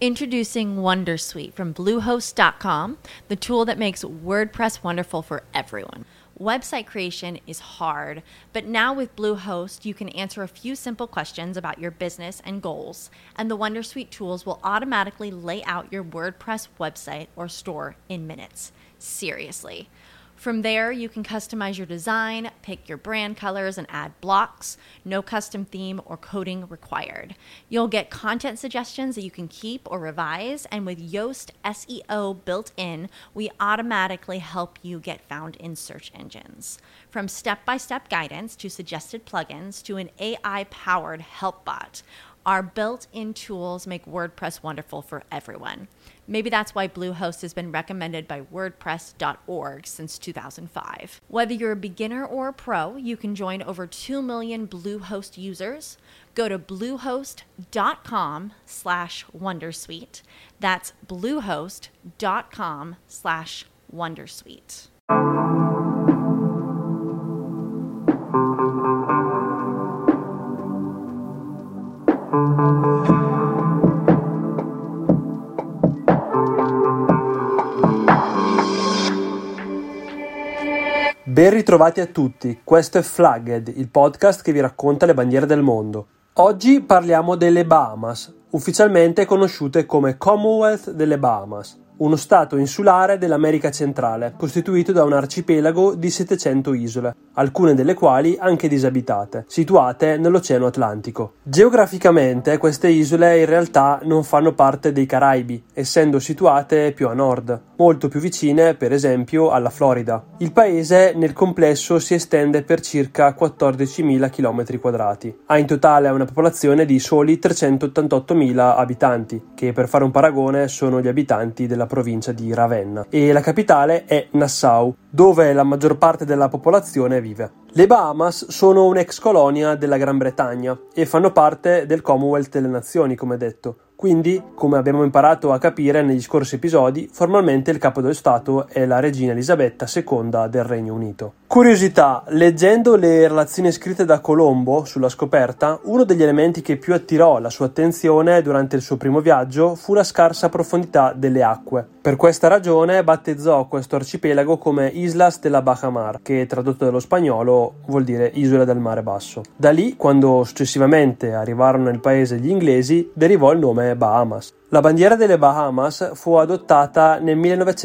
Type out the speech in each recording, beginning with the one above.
Introducing Wondersuite from Bluehost.com, the tool that makes WordPress wonderful for everyone. Website creation is hard, but now with Bluehost, you can answer a few simple questions about your business and goals, and the Wondersuite tools will automatically lay out your WordPress website or store in minutes. Seriously. From there, you can customize your design, pick your brand colors, and add blocks. No custom theme or coding required. You'll get content suggestions that you can keep or revise, and with Yoast SEO built in, we automatically help you get found in search engines. From step-by-step guidance to suggested plugins to an AI-powered help bot, our built-in tools make WordPress wonderful for everyone. Maybe that's why Bluehost has been recommended by WordPress.org since 2005. Whether you're a beginner or a pro, you can join over 2 million Bluehost users. Go to bluehost.com/wondersuite. That's bluehost.com/wondersuite. Ben ritrovati a tutti, questo è Flagged, il podcast che vi racconta le bandiere del mondo. Oggi parliamo delle Bahamas, ufficialmente conosciute come Commonwealth delle Bahamas, uno stato insulare dell'America centrale, costituito da un arcipelago di 700 isole, alcune delle quali anche disabitate, situate nell'Oceano Atlantico. Geograficamente queste isole in realtà non fanno parte dei Caraibi, essendo situate più a nord, molto più vicine per esempio alla Florida. Il paese nel complesso si estende per circa 14.000 km². Ha in totale una popolazione di soli 388.000 abitanti, che per fare un paragone sono gli abitanti della provincia di Ravenna, e la capitale è Nassau, dove la maggior parte della popolazione vive. Le Bahamas sono un'ex colonia della Gran Bretagna e fanno parte del Commonwealth delle Nazioni, come detto. Quindi, come abbiamo imparato a capire negli scorsi episodi, formalmente il capo dello Stato è la regina Elisabetta II del Regno Unito. Curiosità, leggendo le relazioni scritte da Colombo sulla scoperta, uno degli elementi che più attirò la sua attenzione durante il suo primo viaggio fu la scarsa profondità delle acque. Per questa ragione battezzò questo arcipelago come Islas de la Baja Mar, che tradotto dallo spagnolo vuol dire isole del mare basso. Da lì, quando successivamente arrivarono nel paese gli inglesi, derivò il nome Bahamas. La bandiera delle Bahamas fu adottata nel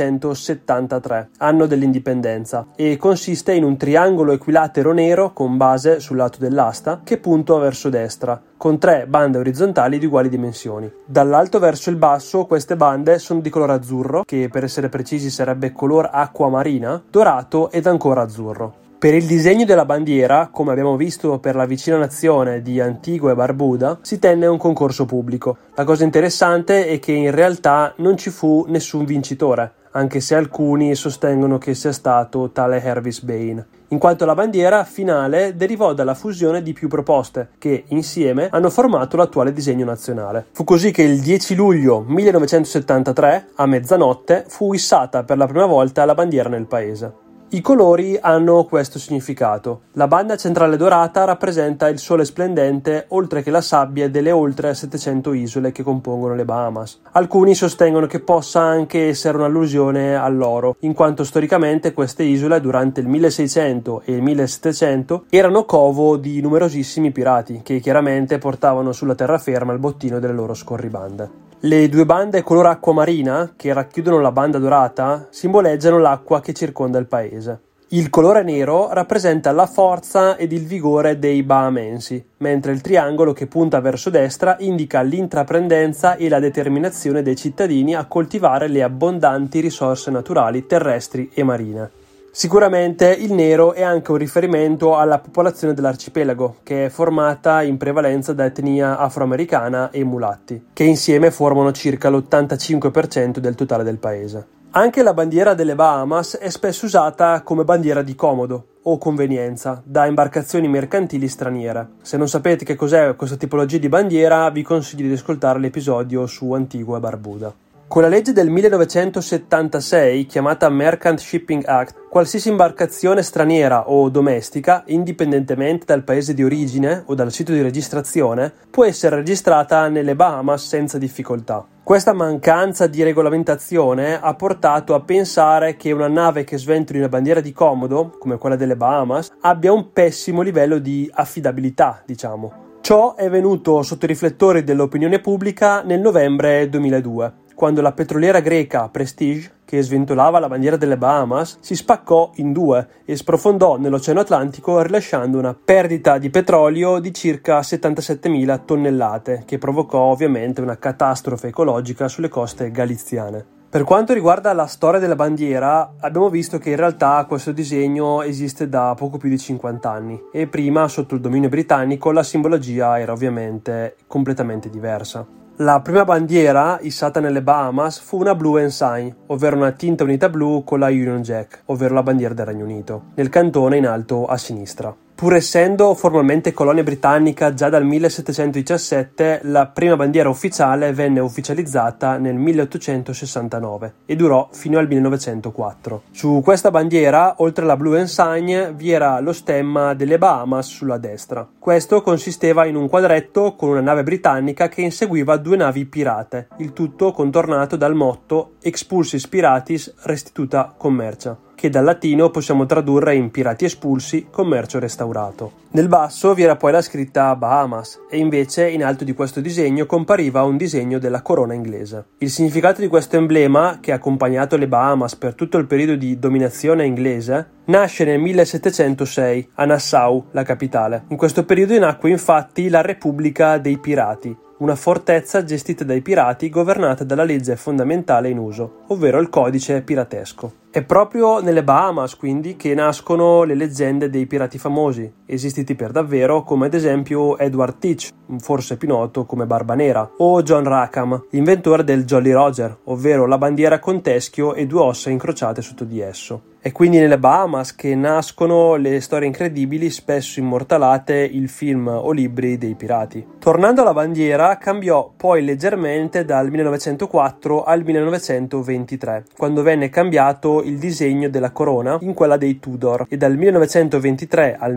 1973, anno dell'indipendenza, e consiste in un triangolo equilatero nero con base sul lato dell'asta che punta verso destra, con 3 bande orizzontali di uguali dimensioni. Dall'alto verso il basso queste bande sono di colore azzurro, che per essere precisi sarebbe color acqua marina, dorato ed ancora azzurro. Per il disegno della bandiera, come abbiamo visto per la vicina nazione di Antigua e Barbuda, si tenne un concorso pubblico. La cosa interessante è che in realtà non ci fu nessun vincitore, anche se alcuni sostengono che sia stato tale Hervis Bain, in quanto la bandiera finale derivò dalla fusione di più proposte che, insieme, hanno formato l'attuale disegno nazionale. Fu così che il 10 luglio 1973, a mezzanotte, fu issata per la prima volta la bandiera nel paese. I colori hanno questo significato. La banda centrale dorata rappresenta il sole splendente oltre che la sabbia delle oltre 700 isole che compongono le Bahamas. Alcuni sostengono che possa anche essere un'allusione all'oro, in quanto storicamente queste isole durante il 1600 e il 1700 erano covo di numerosissimi pirati che chiaramente portavano sulla terraferma il bottino delle loro scorribande. Le 2 bande color acqua marina, che racchiudono la banda dorata, simboleggiano l'acqua che circonda il paese. Il colore nero rappresenta la forza ed il vigore dei bahamensi, mentre il triangolo che punta verso destra indica l'intraprendenza e la determinazione dei cittadini a coltivare le abbondanti risorse naturali terrestri e marine. Sicuramente il nero è anche un riferimento alla popolazione dell'arcipelago, che è formata in prevalenza da etnia afroamericana e mulatti, che insieme formano circa l'85% del totale del paese. Anche la bandiera delle Bahamas è spesso usata come bandiera di comodo o convenienza da imbarcazioni mercantili straniere. Se non sapete che cos'è questa tipologia di bandiera, vi consiglio di ascoltare l'episodio su Antigua e Barbuda. Con la legge del 1976, chiamata Merchant Shipping Act, qualsiasi imbarcazione straniera o domestica, indipendentemente dal paese di origine o dal sito di registrazione, può essere registrata nelle Bahamas senza difficoltà. Questa mancanza di regolamentazione ha portato a pensare che una nave che sventoli una bandiera di comodo, come quella delle Bahamas, abbia un pessimo livello di affidabilità, diciamo. Ciò è venuto sotto i riflettori dell'opinione pubblica nel novembre 2002, quando la petroliera greca Prestige, che sventolava la bandiera delle Bahamas, si spaccò in due e sprofondò nell'Oceano Atlantico rilasciando una perdita di petrolio di circa 77.000 tonnellate, che provocò ovviamente una catastrofe ecologica sulle coste galiziane. Per quanto riguarda la storia della bandiera, abbiamo visto che in realtà questo disegno esiste da poco più di 50 anni e prima, sotto il dominio britannico, la simbologia era ovviamente completamente diversa. La prima bandiera issata nelle Bahamas fu una Blue Ensign, ovvero una tinta unita blu con la Union Jack, ovvero la bandiera del Regno Unito, nel cantone in alto a sinistra. Pur essendo formalmente colonia britannica già dal 1717, la prima bandiera ufficiale venne ufficializzata nel 1869 e durò fino al 1904. Su questa bandiera, oltre alla Blue Ensign, vi era lo stemma delle Bahamas sulla destra. Questo consisteva in un quadretto con una nave britannica che inseguiva due navi pirate, il tutto contornato dal motto Expulsis Piratis Restituta Commercia, che dal latino possiamo tradurre in pirati espulsi, commercio restaurato. Nel basso vi era poi la scritta Bahamas e invece in alto di questo disegno compariva un disegno della corona inglese. Il significato di questo emblema, che ha accompagnato le Bahamas per tutto il periodo di dominazione inglese, nasce nel 1706 a Nassau, la capitale. In questo periodo nacque infatti la Repubblica dei Pirati, una fortezza gestita dai pirati governata dalla legge fondamentale in uso, ovvero il codice piratesco. È proprio nelle Bahamas, quindi, che nascono le leggende dei pirati famosi, esistiti per davvero, come ad esempio Edward Teach, forse più noto come Barba Nera, o John Rackham, inventore del Jolly Roger, ovvero la bandiera con teschio e due ossa incrociate sotto di esso. È quindi nelle Bahamas che nascono le storie incredibili, spesso immortalate, il film o libri dei pirati. Tornando alla bandiera, cambiò poi leggermente dal 1904 al 1923, quando venne cambiato il disegno della corona in quella dei Tudor e dal 1923 al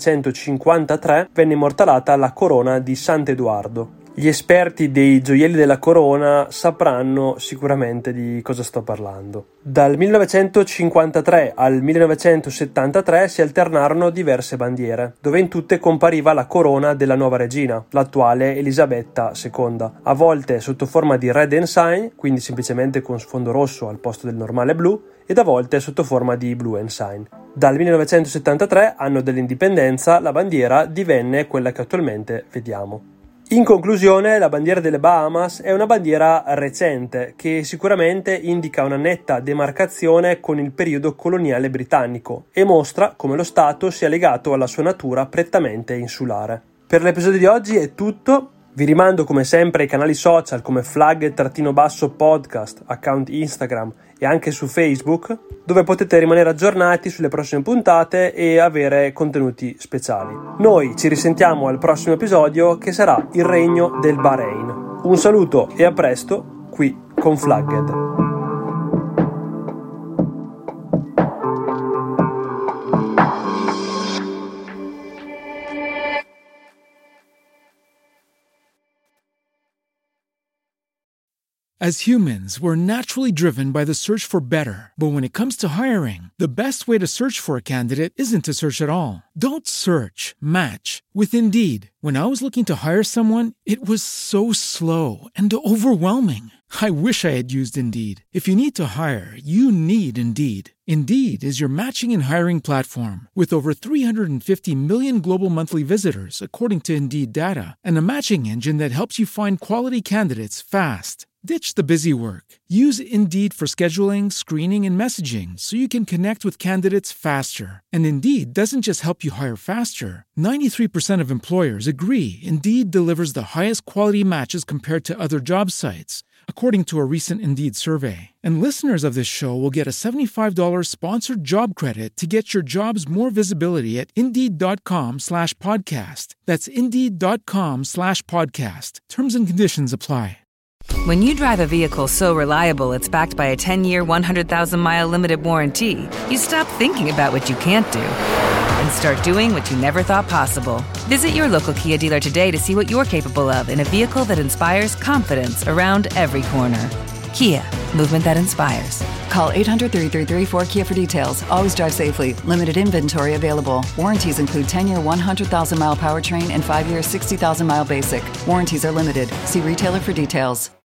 1953 venne immortalata la corona di Sant'Edoardo. Gli esperti dei gioielli della corona sapranno sicuramente di cosa sto parlando. Dal 1953 al 1973 si alternarono diverse bandiere, dove in tutte compariva la corona della nuova regina, l'attuale Elisabetta II, a volte sotto forma di Red Ensign, quindi semplicemente con sfondo rosso al posto del normale blu, ed a volte sotto forma di Blue Ensign. Dal 1973, anno dell'indipendenza, la bandiera divenne quella che attualmente vediamo. In conclusione, la bandiera delle Bahamas è una bandiera recente che sicuramente indica una netta demarcazione con il periodo coloniale britannico e mostra come lo Stato sia legato alla sua natura prettamente insulare. Per l'episodio di oggi è tutto. Vi rimando come sempre ai canali social come flag_podcast, account Instagram e anche su Facebook, dove potete rimanere aggiornati sulle prossime puntate e avere contenuti speciali. Noi ci risentiamo al prossimo episodio, che sarà il regno del Bahrain. Un saluto e a presto qui con Flagged. As humans, we're naturally driven by the search for better. But when it comes to hiring, the best way to search for a candidate isn't to search at all. Don't search, match with Indeed. When I was looking to hire someone, it was so slow and overwhelming. I wish I had used Indeed. If you need to hire, you need Indeed. Indeed is your matching and hiring platform with over 350 million global monthly visitors, according to Indeed data, and a matching engine that helps you find quality candidates fast. Ditch the busy work. Use Indeed for scheduling, screening, and messaging so you can connect with candidates faster. And Indeed doesn't just help you hire faster. 93% of employers agree Indeed delivers the highest quality matches compared to other job sites, according to a recent Indeed survey. And listeners of this show will get a $75 sponsored job credit to get your jobs more visibility at Indeed.com/podcast. That's Indeed.com/podcast. Terms and conditions apply. When you drive a vehicle so reliable it's backed by a 10-year, 100,000-mile limited warranty, you stop thinking about what you can't do and start doing what you never thought possible. Visit your local Kia dealer today to see what you're capable of in a vehicle that inspires confidence around every corner. Kia, movement that inspires. Call 800-333-4KIA for details. Always drive safely. Limited inventory available. Warranties include 10-year, 100,000-mile powertrain and 5-year, 60,000-mile basic. Warranties are limited. See retailer for details.